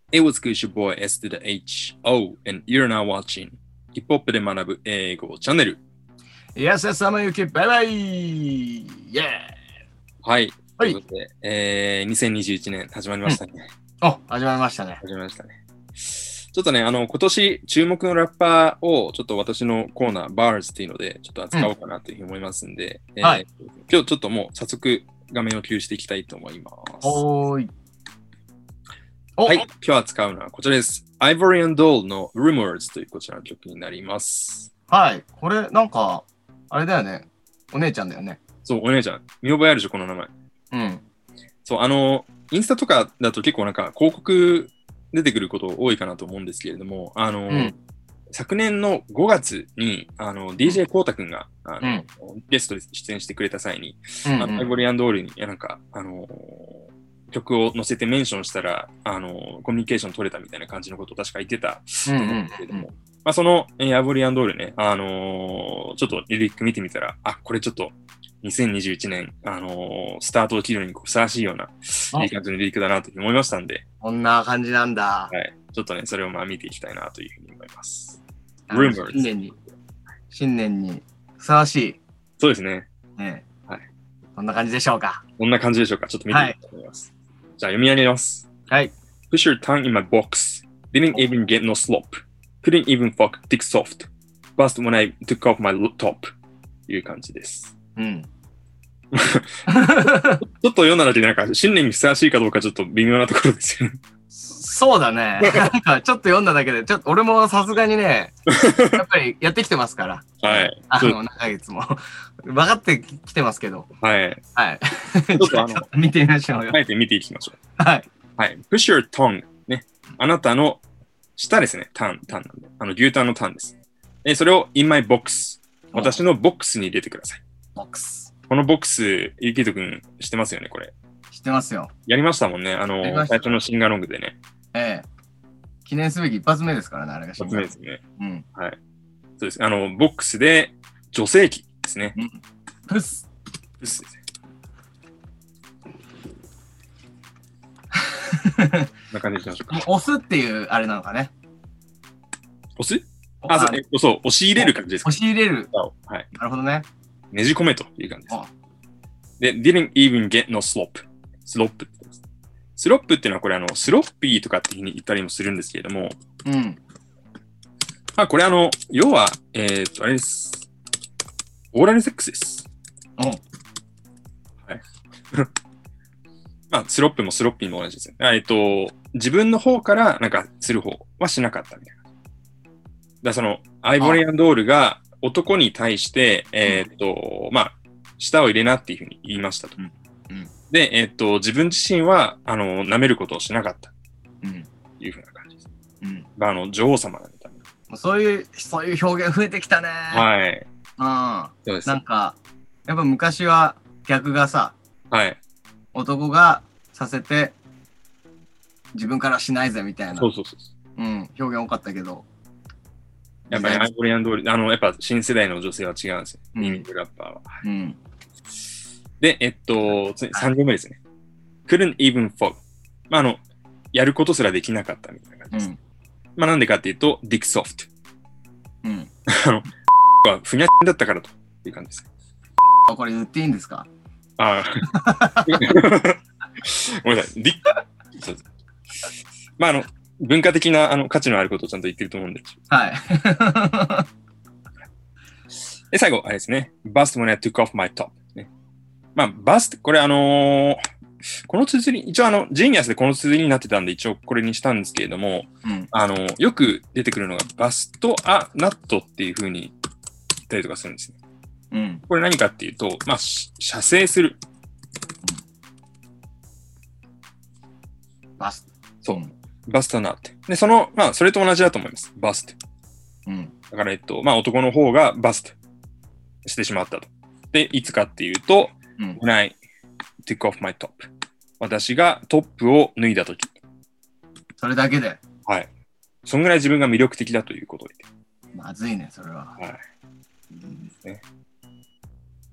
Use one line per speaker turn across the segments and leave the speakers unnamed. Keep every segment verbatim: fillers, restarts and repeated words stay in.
It was good, your boy S to the H O, and you're now watching ヒップホップで学ぶ英語チャンネル。
Yes, yes, さまゆき、バイバイイェー
はい。
はい。
ということで、えー、にせんにじゅういちねん始まりましたね。
うん、お、始まりましたね。
始まりましたね。ちょっとね、あの、今年注目のラッパーをちょっと私のコーナー、バーズっていうので、ちょっと扱おうかなというふうに思いますんで、うん、えーはい、今日ちょっともう早速画面を共有していきたいと思います。
おーい。
はい、今日扱うのはこちらです。Ivory and Doll の Rumors というこちらの曲になります。
はい、これなんか、あれだよね。お姉ちゃんだよね。
そう、お姉ちゃん。見覚えあるでしょ、この名前。
うん。
そう、あの、インスタとかだと結構なんか広告出てくること多いかなと思うんですけれども、あの、うん、昨年のごがつに、あの、ディージェー コウタくんが、あの、うん、ゲストで出演してくれた際に、うんうん、あのアイボリー&ドールに、なんか、あのー、曲を載せてメンションしたら、あの、コミュニケーション取れたみたいな感じのことを確か言ってたと思うんですけれども、うんうんうん、まあ、その、えー、アイボリー&ドールね、あのー、ちょっとリリック見てみたら、あ、これちょっとにせんにじゅういちねん、あのー、スタートを切るのにふさわしいような、いい感じのリリックだなというふうに思いましたんで。
こんな感じなんだ。
はい。ちょっとね、それをまあ見ていきたいなというふうに思います。
Rumors。新年に、新年にふさわしい。
そうですね。
ね、はい。こんな感じでしょうか。
こんな感じでしょうか。ちょっと見てみたいと思います。はい、じゃあ読み上げます。
はい。
Push your tongue in my box. Didn't even get no slop. Couldn't even fuck dick soft. Bust when I took off my top. という感じです。
うん。
ちょっと読んだだけでなんか新年にふさわしいかどうかちょっと微妙なところですよね。
そうだね。なんかちょっと読んだだけで、ちょっと俺もさすがにね、やっぱりやってきてますから。
はい。
あの、何ヶ月も。分かってきてますけど。
はい。
はい。ちょっとあの、見てみましょうよ。
あえて見ていきましょ
う。はい。
はい。push your tongue ね。あなたの下ですね。タン、タンなんで。あの、牛タンのタンです。で、それを in my box。私のボックスに入れてください。
ボックス。
このボックス、ゆきとくん知ってますよね、これ。
知ってますよ。
やりましたもんね。あの、最初のシンガロングでね。
ええ。記念すべき一発目ですからね、あれが。
一発目ですね。
うん。
はい。そうです。あの、ボックスで女性器ですね。
うん、プス。
プスですね。こんな感じにしましょうか。
押すっていうあれなのかね。
押すあ、そう、えっと、そう、押し入れる感じですか。
押し入れる。
はい。
なるほどね。
ねじ込めという感じです。で、didn't even get no slop。スロップって言ってます。スロップっていうのはこれあの、スロッピーとかっていうふうに言ったりもするんですけれども、
うん。
まあこれあの、要は、えー、っと、あれです。オーラルセックスです。
うん。はい。
まあ、スロップもスロッピーも同じですね。えっと、自分の方からなんかする方はしなかったみたいな。だからその、アイボリー&ドールが男に対して、えー、っと、うん、まあ、舌を入れなっていうふうに言いましたと。
うんうん、
で、えー、っと、自分自身は、あの、舐めることをしなかった。
うん。
いうふうな感じです。
うん。
まあ、あの、女王様なんで、多分。
そういう、そういう表現増えてきたね。
はい。
うん。
そうです。
なんか、やっぱ昔は逆がさ、
はい。
男がさせて、自分からしないぜみたいな。
そうそうそう。
うん。表現多かったけど。
やっぱりアイボリー&ドール、あの、やっぱ新世代の女性は違うんですよ。
うん、
ミミングラッパーは。
うん。
で、えっと、さん行目ですね。couldn't even fuck。まあ、あの、やることすらできなかったみたいな感じです。うん、まあ、なんでかっていうと、dick soft。
うん。
あの、はふにゃだったからという感じです。
これ言っていいんですか？
ああ。ごめんなさい。ディッそうです。まあ、あの、文化的なあの価値のあることをちゃんと言ってると思うんです。
はい。
で、最後、あれですね。bust when I took off my top。ね、まあ、bust、これあのー、この綴り、一応あの、ジーニアスでこの綴りになってたんで、一応これにしたんですけれども、
うん、
あのー、よく出てくるのが、バストアナットっていう風に言ったりとかするんですね。
うん、
これ何かっていうと、まあ、射精する。
バスト。
そう。バストナット。で、その、まあ、それと同じだと思います。バスト。
うん。
だから、えっと、まあ、男の方がバストしてしまったと。で、いつかっていうと、
うん、
when I took off my top。私がトップを脱いだとき。
それだけで。
はい。そんぐらい自分が魅力的だということで。
まずいね、それは。
はい。いいですね。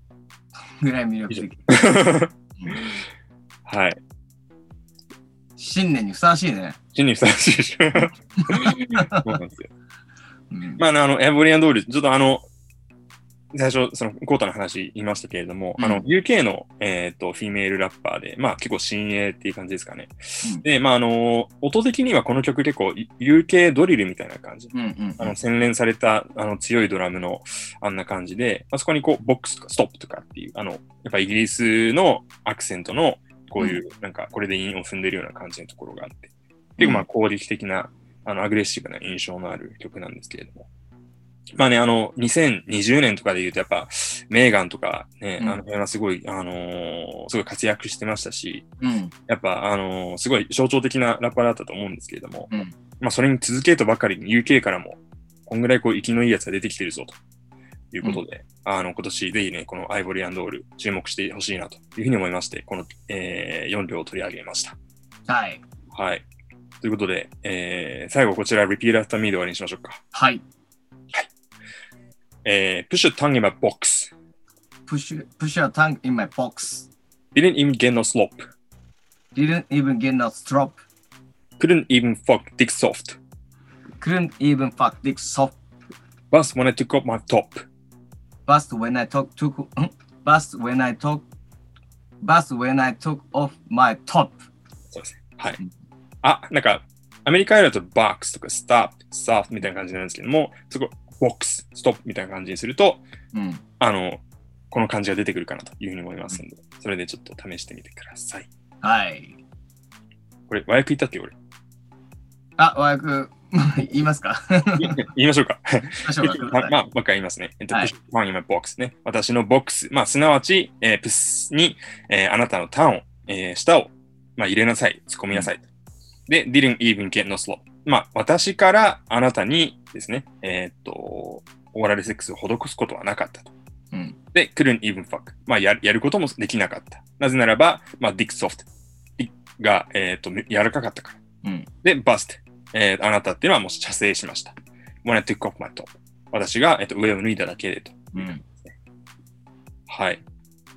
ぐらい魅力的。
はい。
新年にふさわしいね。
新年にふさわしいでしょ。そうなんですよ。うん、まあ、あの、エボリアン通り、ちょっとあの、最初、その、コータの話言いましたけれども、うん、あの、ユーケー の、えっ、ー、と、フィメールラッパーで、まあ、結構新鋭っていう感じですかね。うん、で、まあ、あの、音的にはこの曲結構、ユーケー ドリルみたいな感じ。うんうんうん、あの、洗練された、あの、強いドラムの、あんな感じで、まあ、そこにこう、ボックスとかストップとかっていう、あの、やっぱイギリスのアクセントの、こういう、うん、なんか、これで韻を踏んでるような感じのところがあって、結構、まあ、攻撃的な、あの、アグレッシブな印象のある曲なんですけれども。まあね、あの、にせんにじゅうねんとかで言うと、やっぱ、メーガンとかね、うん、あの辺はすごい、あのー、すごい活躍してましたし、うん、やっぱ、あのー、すごい象徴的なラッパーだったと思うんですけれども、うん、まあ、それに続けとばかりに ユーケー からも、こんぐらいこう、生きのいいやつが出てきてるぞ、ということで、うん、あの、今年ぜひね、このアイボリー&オール、注目してほしいな、というふうに思いまして、この、えー、よん両を取り上げました。
はい。
はい。ということで、えー、最後こちら、リピートアフターミーで終わりにしましょうか。
はい。
Uh, push your tongue in my box.
Push, push your tongue in my box.
Didn't even get no slop.
Didn't even get no strop.
Couldn't even fuck dick soft.
Couldn't even fuck dick soft.
Bust when I took off my top.
Bust when I took took. Bust when I took. Bust when I took off my top.
そうですね。はい。あ、なんかアメリカだと box とか stop, soft みたいな感じなんですけども、そこボックス、ストップみたいな感じにすると、うん、あの、この感じが出てくるかなというふうに思いますので、うん、それでちょっと試してみてください。
はい。
これ、和訳言ったっけ、俺。
あ、和訳、言いますか
言いましょうか。
言いましょうか。
まあ、まあ、もう一回言いますね。えっと、はい、push your tongue in my box ね。私のボックス、まあ、すなわち、えー、プスに、えー、あなたのターンを、えー、舌を、まあ、入れなさい、突っ込みなさい。うん、で、didn't even get no slop。まあ、私からあなたにですね、えー、っと、オーラルセックスを施すことはなかったと。うん、で、couldn't even fuck。まあや、やることもできなかった。なぜならば、まあ、dick soft が、えー、っと、柔らかかったから。うん、で、bust。えー、あなたっていうのはもう射精しました。when I took off my top。私が、えー、っと上を脱いだだけでと。うん、はい。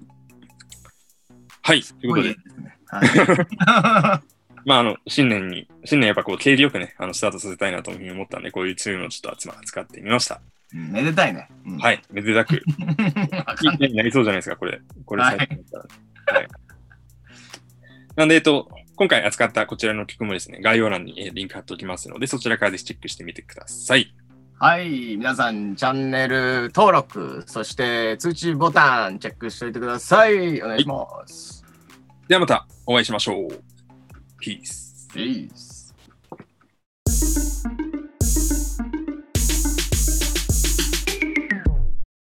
はい。ということで。はいまあ、あの、新年に、新年やっぱこう、景気よくね、あの、スタートさせたいなというふうに思ったんで、こういうツールをちょっと集ま使ってみました。
めでたいね。
うん、はい、めでたく。いい年になりそうじゃないですか、これ。これ最近だったら、はい。はい。なんで、えっと、今回扱ったこちらの曲もですね、概要欄に、えー、リンク貼っておきますので、そちらからぜひチェックしてみてください。
はい。皆さん、チャンネル登録、そして通知ボタンチェックしておいてください。お願いします。
はい、ではまたお会いしましょう。Peace.
Peace.